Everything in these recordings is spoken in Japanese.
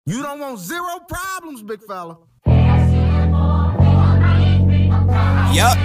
You don't want zero problems, big fella. Yup.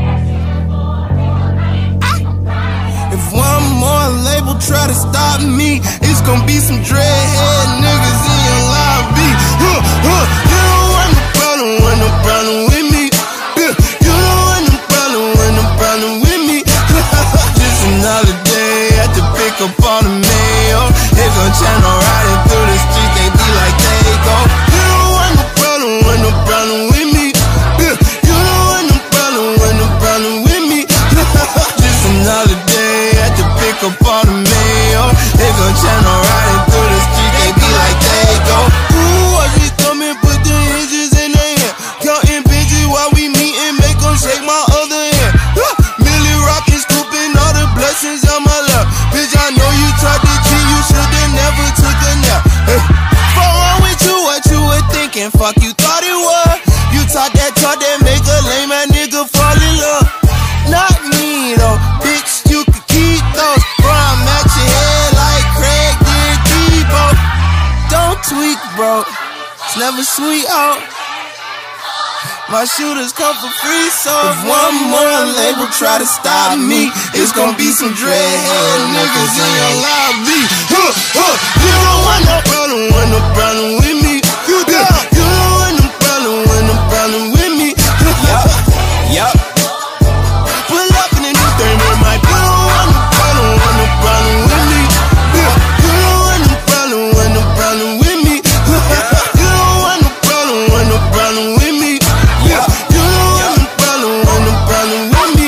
If one more label try to stop me, it's gonna be some dreadhead niggas in your lobby. You don't want no problem with me. You don't want no problem with me. Just another day at the pick up all the mail. They gon' channel riding through the streets, they be like they go. You don't want no problem with me. You don't want no problem with me. Just another day at the pick up all the mail. They gon' channel riding through the streets, they be like they go. Ooh, I just come and put the hinges in their hand. Counting bitches while we meetin', make them shake my other hand. Millie rockin', scooping all the blessings on my lap. Bitch, I know you tried to cheat, you should've never took a nap. Hey, fuck wrong with you, what you were thinking? Fuck you thought it was. You talk that make a lame ass nigga fall in love. Not me though, bitch, you can keep those. Bro, I'm at your head like Craig did Debo. Don't tweak, bro, it's never sweet out. My shooters come for free, so if one more label try to stop me, it's gonna be some dreadhead niggas in your lobby. You don't want no problem with me. You don't want no problem with me. Yup. Pull up in a new thing, they might put on no problem with me. You don't want no problem with me. You don't want no problem with me. You don't want no problem with me.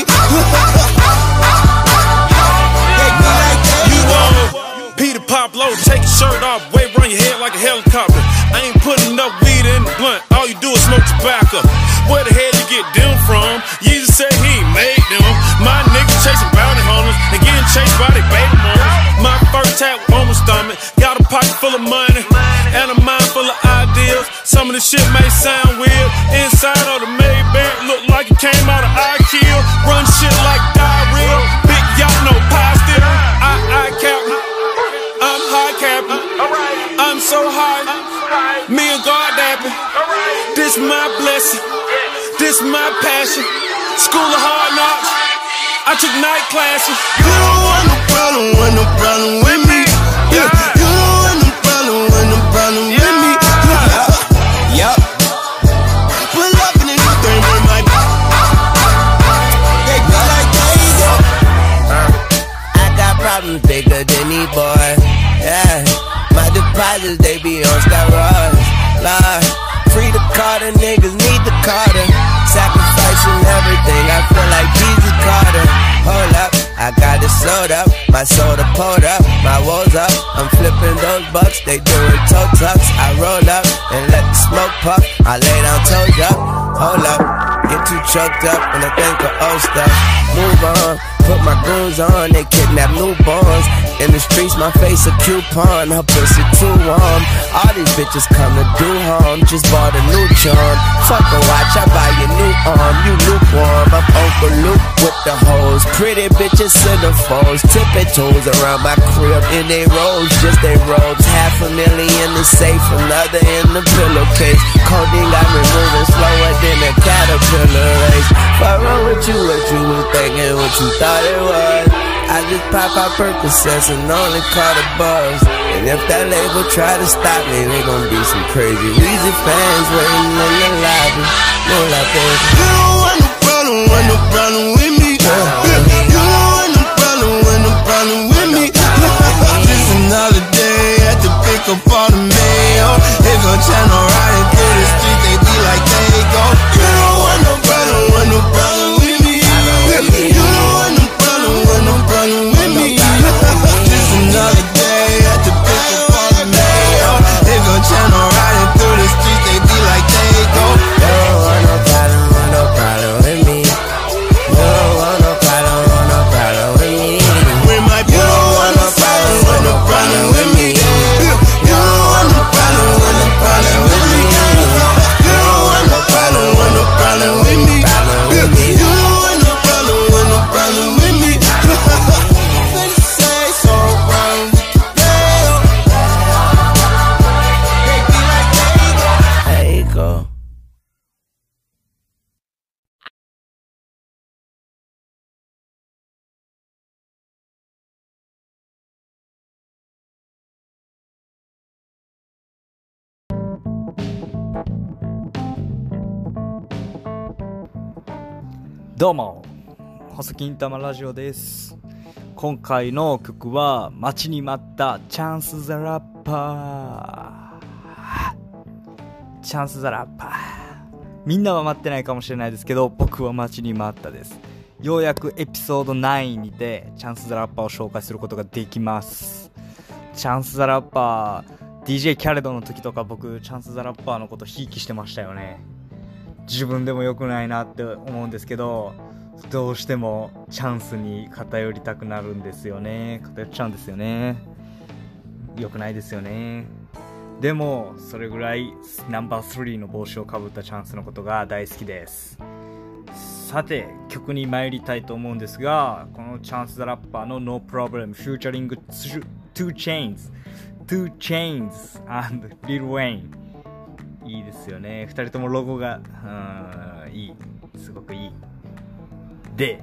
You want Peter Pablo, take your shirt off, wave around your head like a helicopter. I ain't putting up weed in the blunt, all you do is smoke tobacco. Where the hell you get them from? Jesus said he ain't made them. My niggas chasing bounty hunters and getting chased by their baby mamas. My first tap on my stomach, got a pocket full of money and a mind full of ideas. Some of the shit may sound weird. Inside of the Maybach look like it came out of IKEA. Run shit like diarrhea. Big y'all know pie still. I captain. I'm high captain. I'm so high. Me and God dapping. This my blessing. This my passion. School of hard knocks. I took night classes. You don't want no problem with me. You don't want no problem with me. Yup. Pull up in a new thing, they might they go like they go. I got problems bigger than these boys. Yeah, my deposits they be on steroids. Lord, free the Carter, niggas need the Carter. Sacrificing everything, I feel like Jesus Carter. Hold up, I got it sold up, my soda pulled up, my woes up. I'm flipping those bucks, they doing toe tucks. I roll up and let the smoke puff. I lay down toes up, hold up, get too choked up and I think of old stuff. Move on, put my goons on, they kidnap newborns. In the streets, my face a coupon, her pussy too warm. All these bitches come to do harm, just bought a new charm. Fuck a watch, I buy your new arm, you lukewarm. I'm Uncle Luke with the hoes, pretty bitches centerfolds. Tipping toes around my crib in they rolls, just they robes. $500,000 in the safe, another in the pillowcase. Codeine got me moving slower than a caterpillar race. What wrong with you, what you was thinking, what you thought it was? I just pop out Percocets and only caught a buzz. And if that label try to stop me, they gon' be some crazy Weezy fans waiting in the lobby. No like that. You don't want no problem with me. You don't want no problem with me. Just another day at the pick up all the mail. They gon' channel riding through the streets, they be like they go. You don't want no problem with me. You don't want no problem with me. Just another day at the pick up all the mail. They gon' channel riding through the streets, they be like they go. You don't want no problem with me. You don't want no problem with me. With my you don't want no problem with me. You don't want no problem with me. どうも、細金玉ラジオです。今回の曲は待ちに待ったチャンスザラッパー。チャンスザラッパー。みんなは待ってないかもしれないですけど、僕は待ちに待ったです。ようやくエピソード9にてチャンスザラッパーを紹介することができます。チャンスザラッパー、DJ キャレドの時とか僕チャンスザラッパーのことひいきしてましたよね。自分でも良くないなって思うんですけど、どうしてもチャンスに偏りたくなるんですよね。偏っちゃうんですよね。良くないですよね。でもそれぐらいナンバー3の帽子をかぶったチャンスのことが大好きです。さて曲に参りたいと思うんですが、このチャンスザラッパーの No Problem フューチャリング Two Chainz and Lil Wayne、いいですよね。2人ともロゴがいい、すごくいい。で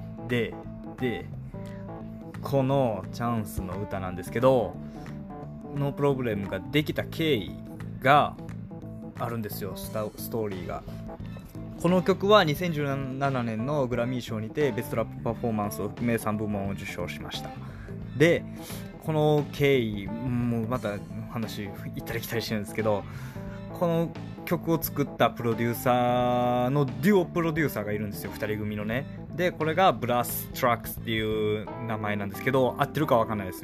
このチャンスの歌なんですけど、ノープロブレムができた経緯があるんですよ。ストーリーが。この曲は2017年のグラミー賞にてベストラップパフォーマンスを含め3部門を受賞しました。でこの経緯もうまた話行ったり来たりしてるんですけど、この曲を作ったプロデューサーのデュオプロデューサーがいるんですよ、2人組のね。でこれがブラストラックスっていう名前なんですけど、合ってるか分かんないです。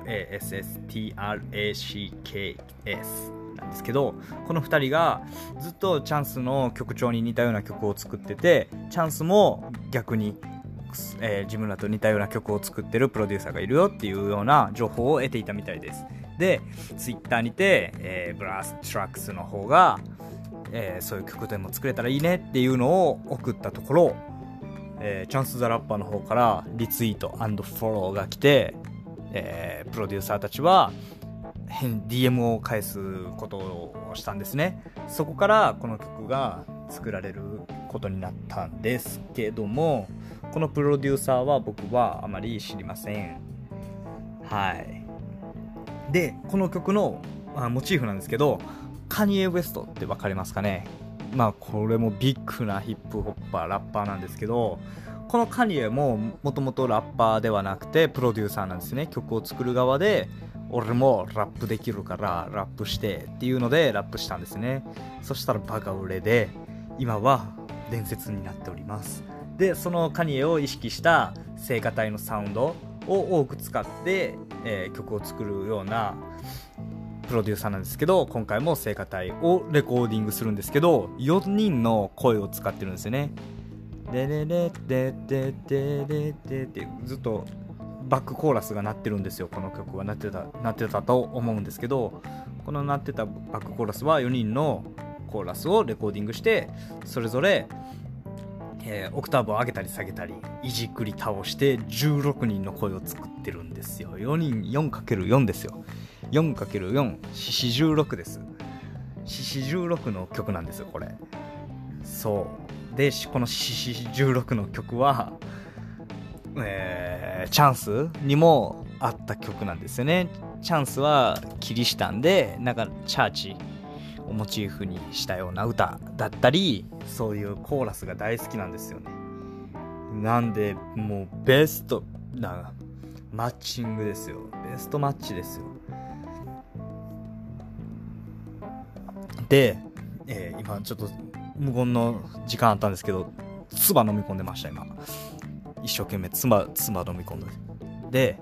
BRASSTRACKS なんですけど、この2人がずっとチャンスの曲調に似たような曲を作ってて、チャンスも逆に、自分らと似たような曲を作ってるプロデューサーがいるよっていうような情報を得ていたみたいです。でツイッターにて、ブラストラックスの方が、そういう曲でも作れたらいいねっていうのを送ったところ、チャンスザラッパーの方からリツイート&フォローが来て、プロデューサーたちはDM を返すことをしたんですね。そこからこの曲が作られることになったんですけども、このプロデューサーは僕はあまり知りません。はい。でこの曲のモチーフなんですけど、カニエ・ウェストって分かりますかね。これもビッグなヒップホッパーラッパーなんですけど、このカニエももともとラッパーではなくてプロデューサーなんですね。曲を作る側で、俺もラップできるからラップしてっていうのでラップしたんですね。そしたらバカ売れで今は伝説になっております。でそのカニエを意識した聖歌隊のサウンドを多く使って、曲を作るようなプロデューサーなんですけど、今回も聖歌隊をレコーディングするんですけど、4人の声を使ってるんですよね。ででででででででってずっとバックコーラスが鳴ってるんですよ。この曲は鳴ってたと思うんですけど、この鳴ってたバックコーラスは4人のコーラスをレコーディングして、それぞれオクターブを上げたり下げたりいじくり倒して16人の声を作ってるんですよ。4人 4×4 ですよ。 4×4 四四16です。四四16の曲なんですよこれ。そうでこの四四16の曲は、チャンスにもあった曲なんですよね。チャンスはキリシタンでなんかチャーチをモチーフにしたような歌だったり、そういうコーラスが大好きなんですよね。なんでもうベストなマッチングですよ。ベストマッチですよ。で、今ちょっと無言の時間あったんですけど、唾飲み込んでました今。一生懸命唾飲み込んで、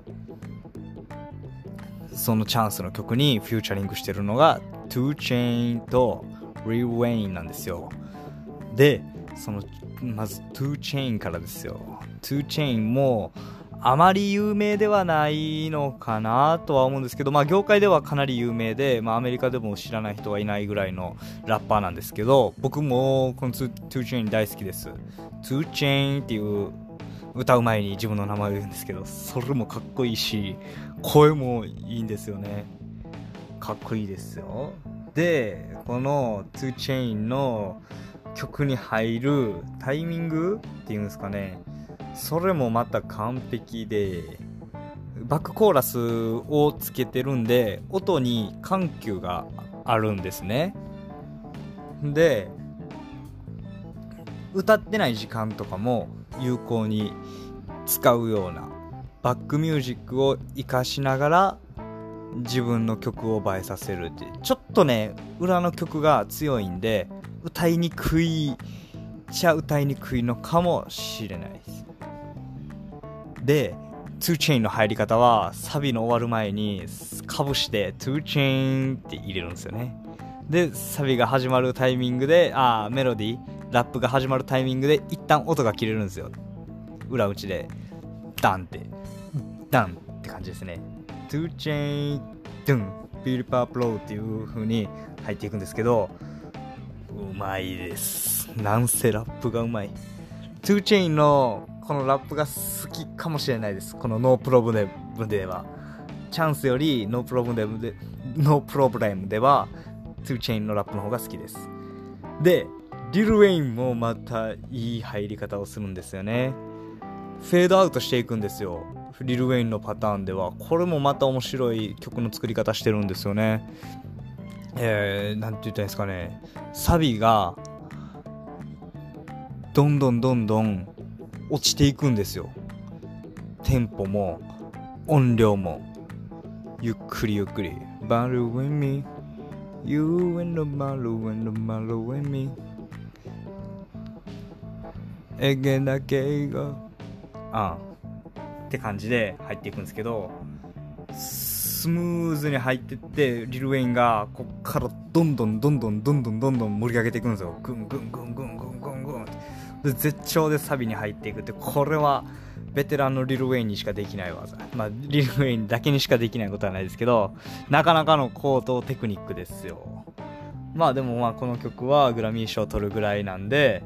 そのチャンスの曲にフューチャリングしてるのが Two Chainz と Lil Wayne なんですよ。でまず Two Chainz からですよ。Two Chainz もあまり有名ではないのかなとは思うんですけど、業界ではかなり有名で、アメリカでも知らない人はいないぐらいのラッパーなんですけど、僕もこの Two Chainz 大好きです。 Two Chainz っていう歌う前に自分の名前を言うんですけど、それもかっこいいし声もいいんですよね。かっこいいですよ。でこの Two Chainz の曲に入るタイミングっていうんですかね、それもまた完璧で、バックコーラスをつけてるんで音に緩急があるんですね。で歌ってない時間とかも有効に使うようなバックミュージックを活かしながら自分の曲を映えさせるって、ちょっとね裏の曲が強いんで歌いにくいのかもしれないです。で2 Chainz の入り方はサビの終わる前にかぶして2 Chainzって入れるんですよね。でサビが始まるタイミングでメロディーラップが始まるタイミングで一旦音が切れるんですよ。裏打ちでダンって感じですね。2 Chainz ドゥンビルパープローっていう風に入っていくんですけど、うまいです。なんせラップがうまい。2 Chainz のこのラップが好きかもしれないです。このノープロブレムではチャンスよりノープロブレムでは2 Chainz のラップの方が好きです。でリル・ウェインもまたいい入り方をするんですよね。フェードアウトしていくんですよ、リル・ウェインのパターンでは。これもまた面白い曲の作り方してるんですよね。なんて言ったらいいんですかね、サビがどんどん落ちていくんですよ。テンポも音量もゆっくりBattle with me You and the battle with me えげだけがって感じで入っていくんですけど、スムーズに入ってってリル・ウェインがこっからどんどん盛り上げていくんですよ。グンで絶頂でサビに入っていくって、これはベテランのリル・ウェインにしかできない技。リル・ウェインだけにしかできないことはないですけど、なかなかの高等テクニックですよ。でもこの曲はグラミー賞を取るぐらいなんで、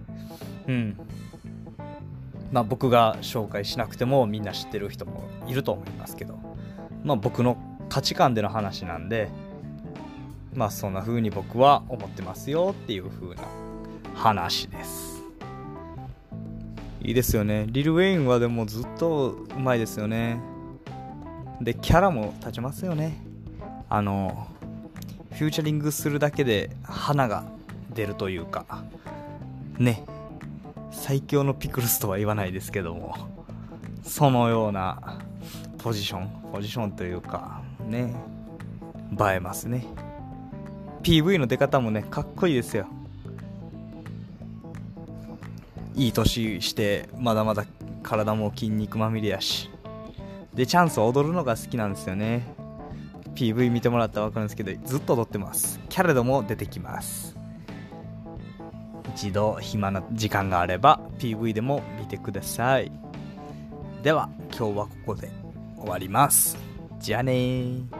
僕が紹介しなくてもみんな知ってる人もいると思いますけど、僕の価値観での話なんで、そんな風に僕は思ってますよっていう風な話です。いいですよね。リル・ウェインはでもずっとうまいですよね。でキャラも立ちますよね。フューチャリングするだけで花が出るというかね、最強のピクルスとは言わないですけども、そのようなポジションというかね、映えますね。 PV の出方もねかっこいいですよ。いい年してまだまだ体も筋肉まみれやし、でチャンス踊るのが好きなんですよね。 PV 見てもらったら分かるんですけどずっと踊ってます。キャレドも出てきます。一度暇な時間があれば PV でも見てください。では今日はここで終わります。じゃあねー。